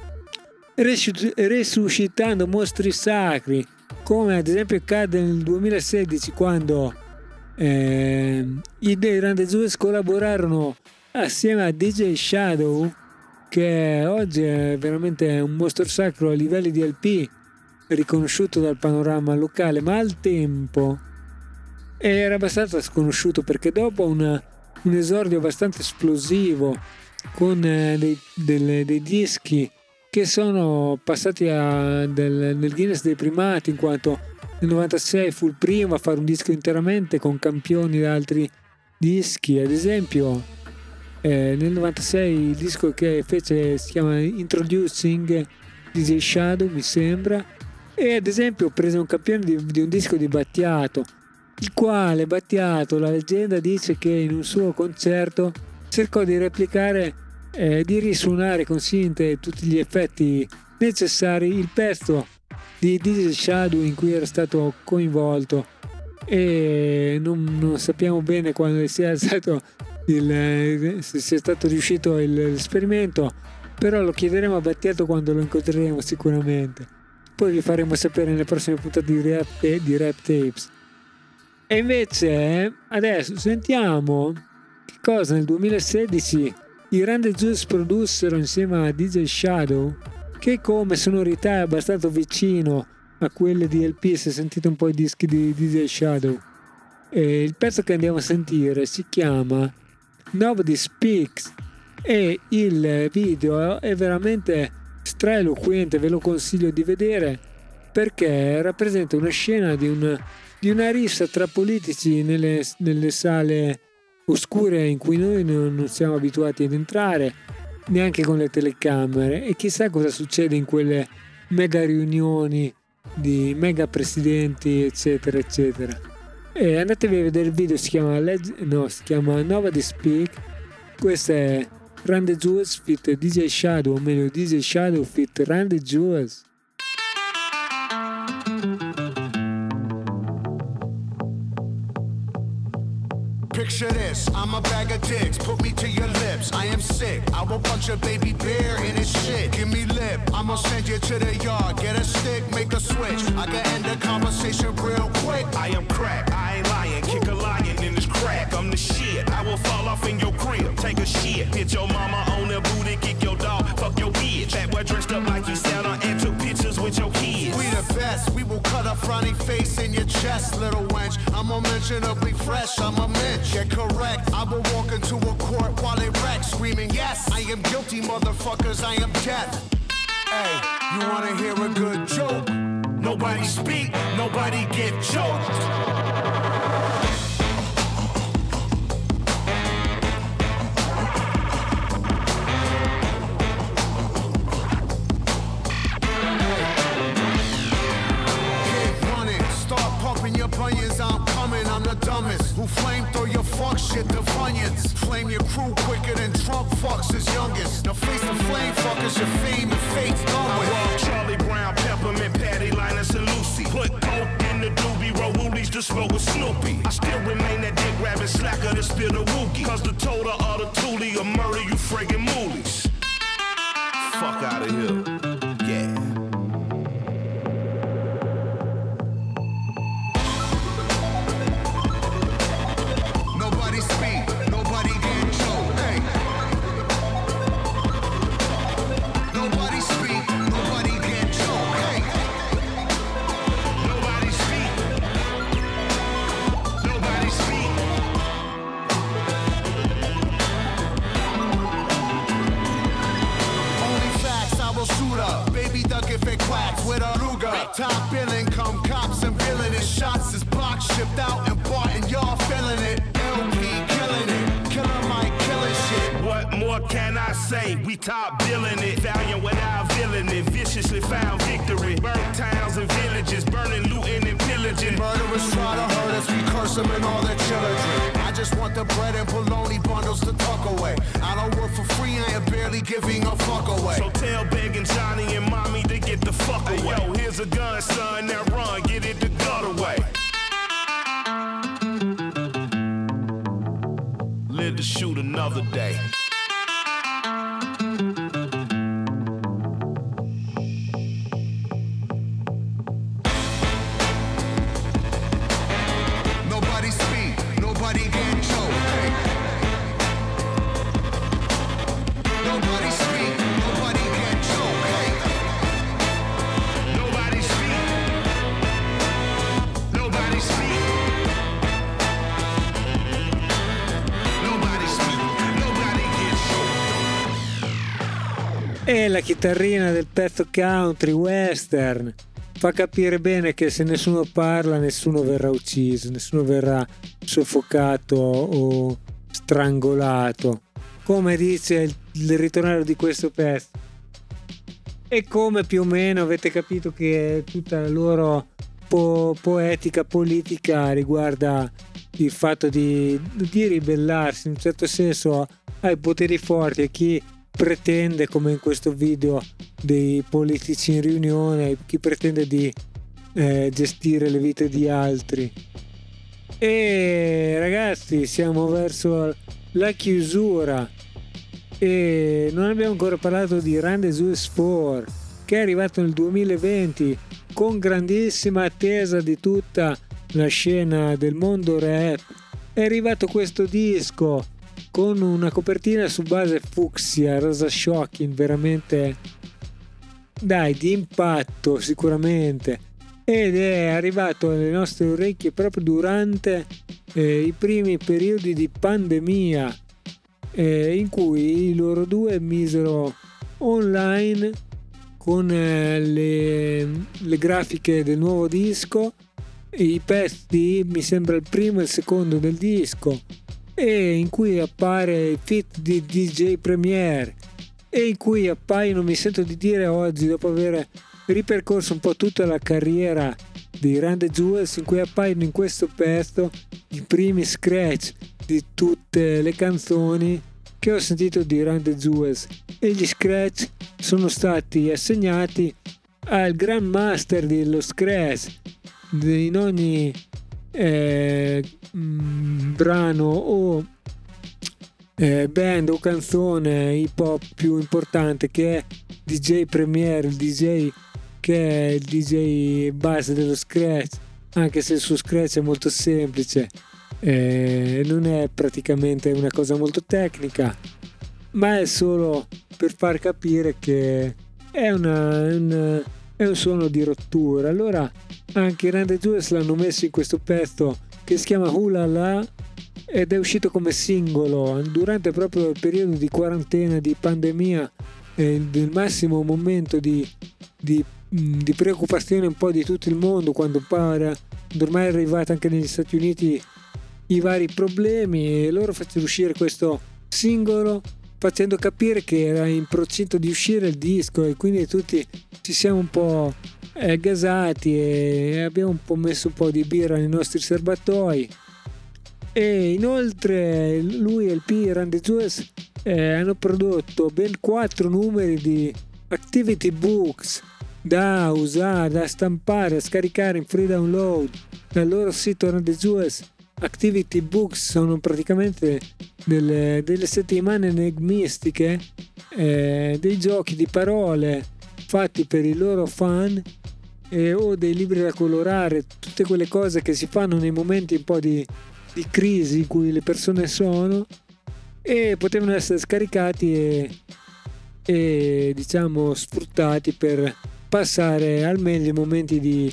A: resuscitando mostri sacri, come ad esempio accade nel 2016 quando i dei Run the Jewels collaborarono assieme a DJ Shadow, che oggi è veramente un mostro sacro a livelli di LP, riconosciuto dal panorama locale, ma al tempo era abbastanza sconosciuto, perché dopo un esordio abbastanza esplosivo con dei dischi che sono passati nel Guinness dei primati, in quanto nel 96 fu il primo a fare un disco interamente con campioni da altri dischi. Ad esempio nel 96 il disco che fece si chiama Introducing DJ Shadow, mi sembra, e ad esempio prese un campione di un disco di Battiato, il quale Battiato, la leggenda dice che in un suo concerto cercò di replicare, di risuonare con sinte e tutti gli effetti necessari il pezzo di DJ Shadow in cui era stato coinvolto, e non sappiamo bene quando sia stato se sia stato riuscito l'esperimento, però lo chiederemo a Battiato quando lo incontreremo sicuramente. Poi vi faremo sapere nelle prossime puntate di Rap Tapes. E invece adesso sentiamo che cosa nel 2016 i Run the Jewels produssero insieme a DJ Shadow, che come sonorità è abbastanza vicino a quelle di LP, se sentite un po' i dischi di DJ Shadow. E il pezzo che andiamo a sentire si chiama Nobody Speaks, e il video è veramente straeloquente, ve lo consiglio di vedere, perché rappresenta una scena di una rissa tra politici nelle sale oscure in cui noi non siamo abituati ad entrare, neanche con le telecamere, e chissà cosa succede in quelle mega riunioni di mega presidenti eccetera eccetera. E andatevi a vedere il video, si chiama Nobody Speak. Questo è Run the Jewels fit DJ Shadow, o meglio DJ Shadow fit Run the Jewels.
B: Picture this, I'm a bag of dicks, put me to your lips. I am sick, I will punch a baby bear in his shit. Give me lip, I'ma send you to the yard. Get a stick, make a switch. I can end the conversation real quick.
C: I am crack, I ain't lying. Kick a lion in his crack. I'm the shit. I will fall off in your crib. Take a shit. Hit your mama on the booty. Kick your dog. Fuck your bitch. That boy dressed up like he sat on and took pictures with your kids.
B: We the best. We will cut a frowny face in your chest, little wench. I'm unmentionably fresh. I'm a mensch. Get correct. I will walk into a court while it wrecks, screaming, yes, I am guilty, motherfuckers. I am death. Hey, you wanna hear a good joke?
C: Nobody speak, nobody get choked.
B: Bunions, I'm coming, I'm the dumbest. Who flame throw your fuck shit to Funyuns? Flame your crew quicker than Trump fucks his youngest. Now face the flame fuckers, your fame and fate's done with.
C: I Charlie Brown, Peppermint, Patty, Linus, and Lucy. Put coke in the doobie, roll woolies to smoke with Snoopy. I still remain that dick rabbit slacker that spill the wookie. Cause the total of the toolie will murder you friggin' moolies. Fuck out of here. Yeah.
B: Top billing, come cops and villainous shots is blocked, shipped out and bought, and y'all feeling it. LP killing it, Killer Mike killing shit.
C: What more can I say? We top billing it, valiant without villainy, viciously found victory. Burnt towns and villages, burning, looting, and pillaging.
B: Murderers try to hurt us, we curse them and all their children. I just want the bread and bologna bundles to tuck away. I don't work for free, I am barely giving a fuck away.
C: So tell begging Johnny and Mommy to get the fuck away. Yo, here's a gun, son, now run, get it the gut away. Live to shoot another day.
B: Nobody speak, nobody get choked. Hey. Nobody speak, nobody get choked. Hey.
C: Nobody speak. Nobody speak. Nobody speak. Nobody get choked.
A: E la chitarrina del pezzo country western fa capire bene che se nessuno parla nessuno verrà ucciso, nessuno verrà soffocato o strangolato, come dice il ritornello di questo pezzo. E come più o meno avete capito che tutta la loro poetica politica riguarda il fatto di ribellarsi in un certo senso ai poteri forti, a chi pretende, come in questo video dei politici in riunione, chi pretende di gestire le vite di altri. E ragazzi, siamo verso la chiusura e non abbiamo ancora parlato di Run the Jewels 4, che è arrivato nel 2020 con grandissima attesa di tutta la scena del mondo rap. È arrivato questo disco con una copertina su base fucsia, rosa shocking, veramente di impatto sicuramente, ed è arrivato alle nostre orecchie proprio durante i primi periodi di pandemia, in cui loro due misero online con le grafiche del nuovo disco, i pezzi, mi sembra il primo e il secondo del disco, e in cui appare il feat di DJ Premier, e in cui appaiono, mi sento di dire oggi, dopo aver ripercorso un po' tutta la carriera di Run the Jewels, in cui appaiono in questo pezzo i primi scratch di tutte le canzoni che ho sentito di Run the Jewels, e gli scratch sono stati assegnati al Grandmaster dello scratch in ogni brano o band o canzone hip hop più importante, che è DJ Premier, il DJ che è il DJ base dello scratch, anche se il suo scratch è molto semplice, non è praticamente una cosa molto tecnica, ma è solo per far capire che è un suono di rottura. Allora anche i Run the Jewels l'hanno messo in questo pezzo che si chiama Hula La, ed è uscito come singolo durante proprio il periodo di quarantena, di pandemia, del massimo momento di preoccupazione un po' di tutto il mondo, quando ormai è arrivata anche negli Stati Uniti i vari problemi, e loro fecero uscire questo singolo facendo capire che era in procinto di uscire il disco, e quindi tutti ci siamo un po' gasati e abbiamo un po' messo un po' di birra nei nostri serbatoi. E inoltre lui e il P Run the Jewels hanno prodotto ben 4 numeri di activity books da usare, da stampare, da scaricare in free download dal loro sito Run the Jewels. Activity books sono praticamente delle settimane enigmistiche, dei giochi di parole fatti per i loro fan, o dei libri da colorare, tutte quelle cose che si fanno nei momenti un po' di crisi in cui le persone sono, e potevano essere scaricati e diciamo sfruttati per passare al meglio i momenti di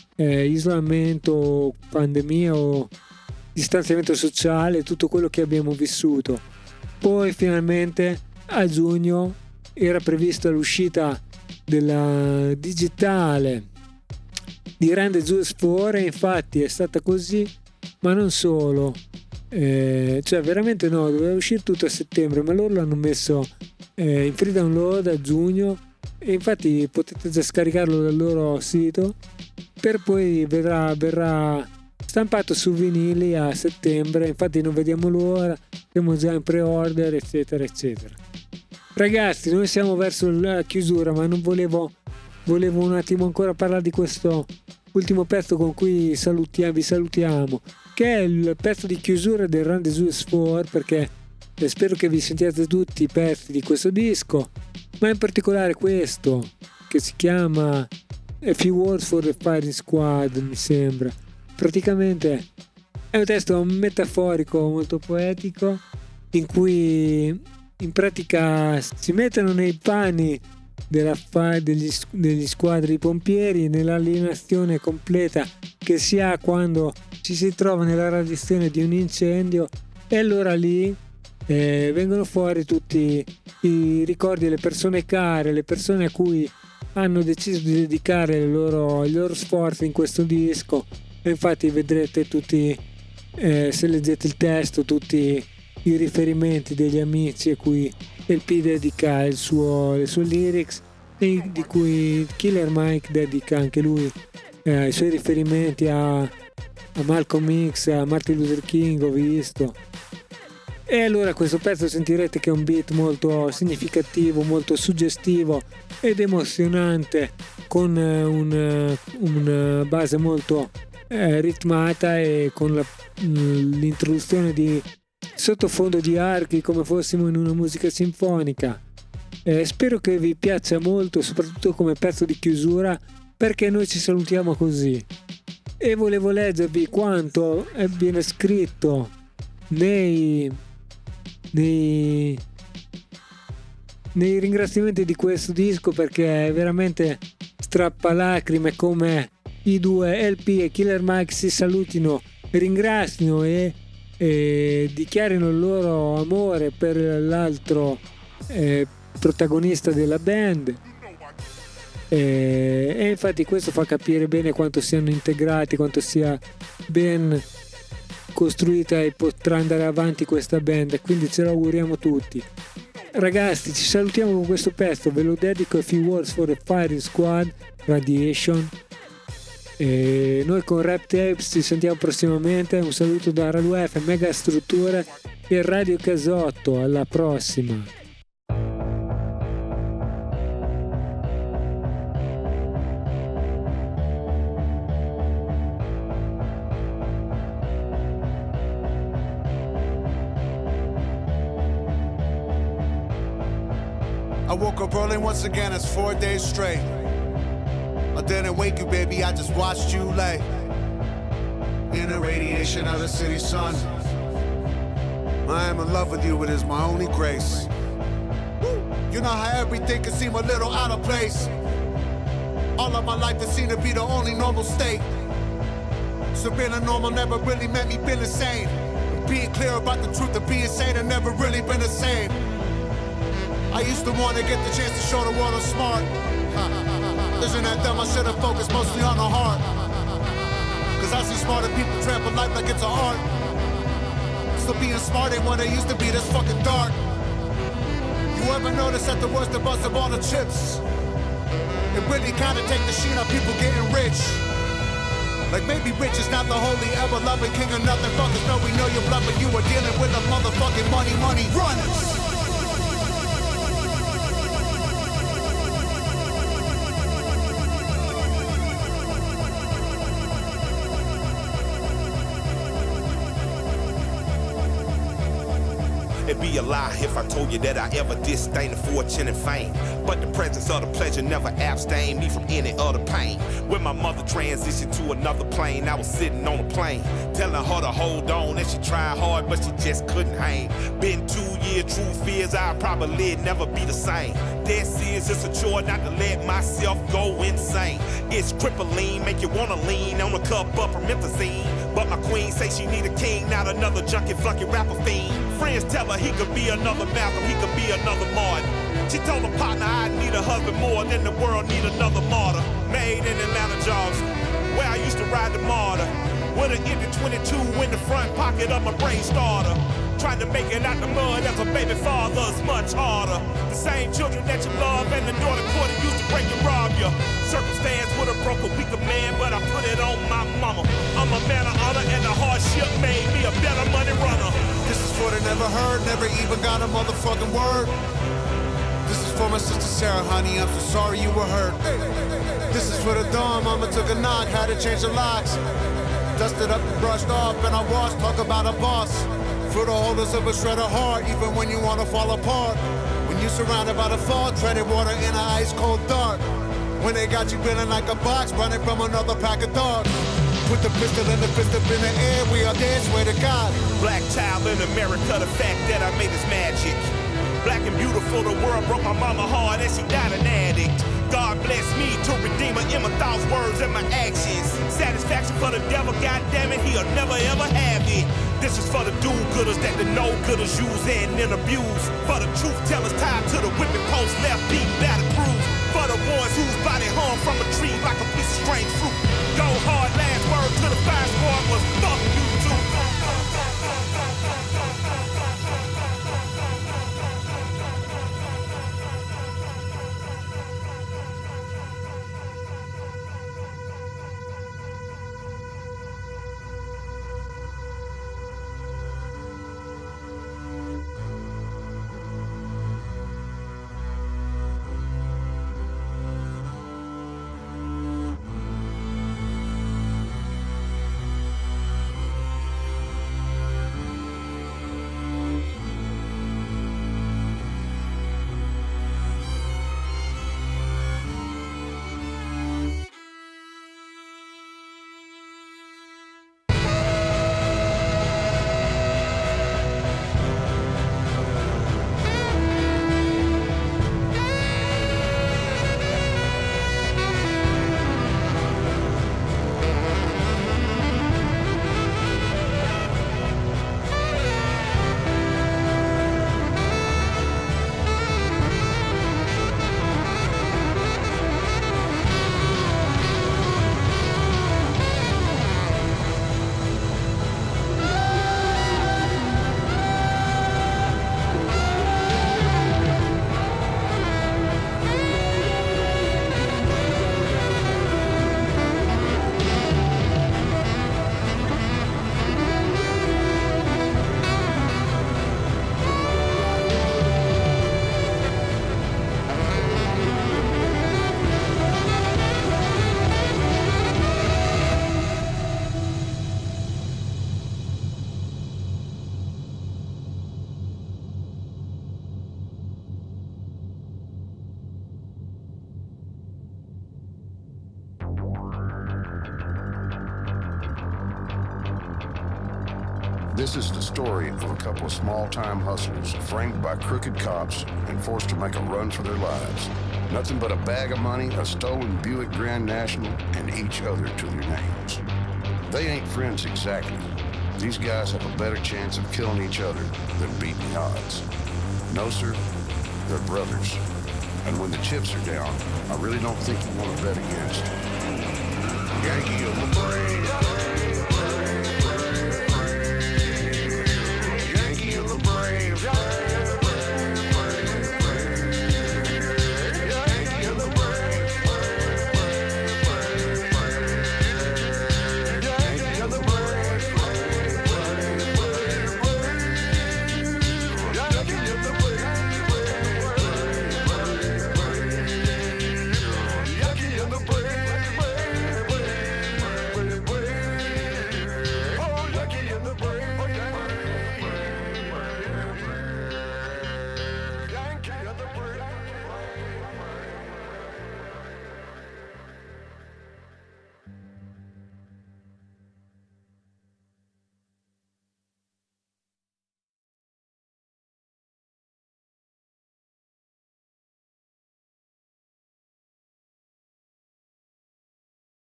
A: isolamento, pandemia o distanziamento sociale, tutto quello che abbiamo vissuto. Poi finalmente a giugno era prevista l'uscita della digitale di Run the Jewels 4, e infatti è stata così, ma non solo, cioè veramente no, doveva uscire tutto a settembre, ma loro l'hanno messo in free download a giugno, e infatti potete già scaricarlo dal loro sito, per poi verrà stampato su vinili a settembre. Infatti non vediamo l'ora, siamo già in pre-order, eccetera eccetera. Ragazzi, noi siamo verso la chiusura, ma non volevo un attimo ancora parlare di questo ultimo pezzo con cui vi salutiamo, che è il pezzo di chiusura del Run the Jewels 4, perché spero che vi sentiate tutti i pezzi di questo disco, ma in particolare questo che si chiama A Few Words for the Firing Squad, mi sembra. Praticamente è un testo metaforico molto poetico, in cui in pratica si mettono nei panni degli squadri pompieri, nell'alienazione completa che si ha quando ci si trova nella radiazione di un incendio, e allora lì vengono fuori tutti i ricordi delle persone care, le persone a cui hanno deciso di dedicare i loro sforzi in questo disco. E infatti vedrete tutti, se leggete il testo, tutti i riferimenti degli amici a cui LP dedica le sue lyrics, e di cui Killer Mike dedica anche lui i suoi riferimenti a Malcolm X, a Martin Luther King, ho visto. E allora questo pezzo sentirete che è un beat molto significativo, molto suggestivo ed emozionante, con una base molto ritmata, e con l'introduzione di sottofondo di archi come fossimo in una musica sinfonica. Spero che vi piaccia molto, soprattutto come pezzo di chiusura, perché noi ci salutiamo così. E volevo leggervi quanto viene scritto nei ringraziamenti di questo disco, perché è veramente strappalacrime come i due LP e Killer Mike si salutino, ringrazino e dichiarino il loro amore per l'altro protagonista della band, e infatti questo fa capire bene quanto siano integrati, quanto sia ben costruita e potrà andare avanti questa band, e quindi ce lo auguriamo tutti. Ragazzi, ci salutiamo con questo pezzo, ve lo dedico, A Few Words for the Firing Squad, Radiation. E noi con Rap Tapes ci sentiamo prossimamente. Un saluto da Radio F, Mega Strutture e Radio Casotto. Alla prossima.
B: I woke up early once again, it's 4 days straight. I didn't wake you, baby, I just watched you lay in the radiation of the city sun. I am in love with you, it is my only grace. You know how everything can seem a little out of place. All of my life it seemed to be the only normal state. So being a normal never really meant me being insane. Being clear about the truth of being sane had never really been the same. I used to want to get the chance to show the world I'm smart. Isn't that dumb? I should have focused mostly on the heart. Cause I see smarter people trample life like it's an art. So being smart ain't what it used to be, this fucking dark. You ever notice that the worst of us have all the chips? It really kinda take the sheen on people getting rich. Like maybe rich is not the holy ever-loving king of nothing. Fuckers know we know your blood, but you are dealing with a motherfucking money runners.
C: It'd be a lie if I told you that I ever disdained the fortune and fame. But the presence of the pleasure never abstained me from any other pain. When my mother transitioned to another plane, I was sitting on a plane, telling her to hold on, and she tried hard, but she just couldn't hang. Been 2 years, true fears, I'll probably never be the same. Dead serious, it's a chore not to let myself go insane. It's crippling, make you wanna lean on a cup of promethazine. But my queen say she need a king, not another junkie flunky rapper fiend. Friends tell her he could be another Malcolm, he could be another Martin. She told her partner I need a husband more than the world need another martyr. Made in Atlanta, Georgia, where I used to ride the martyr. With an empty 22 in the front pocket of my brain starter. Trying to make it out the mud as a baby father's much harder. The same children that you love and the daughter quarter used to break and rob you. Circumstance would have broke a weaker man, but I put it on my mama. I'm a man of honor and the hardship made me a better money runner.
B: This is for the never heard, never even got a motherfucking word. This is for my sister Sarah, honey, I'm so sorry you were hurt. This is for the dawn, mama took a knock, had to change the locks. Dusted up and brushed off, and I washed, talk about a boss. For the holders of a shredder heart, even when you wanna fall apart. When you're surrounded by the fog, treaded water in an ice cold dark. When they got you feeling like a box, running from another pack of dogs. Put the pistol and the fist up in the air, we are dead, swear to God.
C: Black child in America, the fact that I made is magic. Black and beautiful, the world broke my mama hard and she died an addict. God bless me to redeem her in my thoughts, words, and my actions. Satisfaction for the devil, goddammit, he'll never ever have it. This is for the do-gooders that the no-gooders use and then abuse. For the truth tellers tied to the whipping post, left beat, battle cruise. For the ones whose body hung from a tree like a piece of strange fruit. Go hard, last word to the fire squad was fuck you too.
G: This is the story of a couple of small-time hustlers framed by crooked cops and forced to make a run for their lives. Nothing but a bag of money, a stolen Buick Grand National, and each other to their names. They ain't friends exactly. These guys have a better chance of killing each other than beating the odds. No, sir, they're brothers. And when the chips are down, I really don't think you want to bet against them. Yankee of the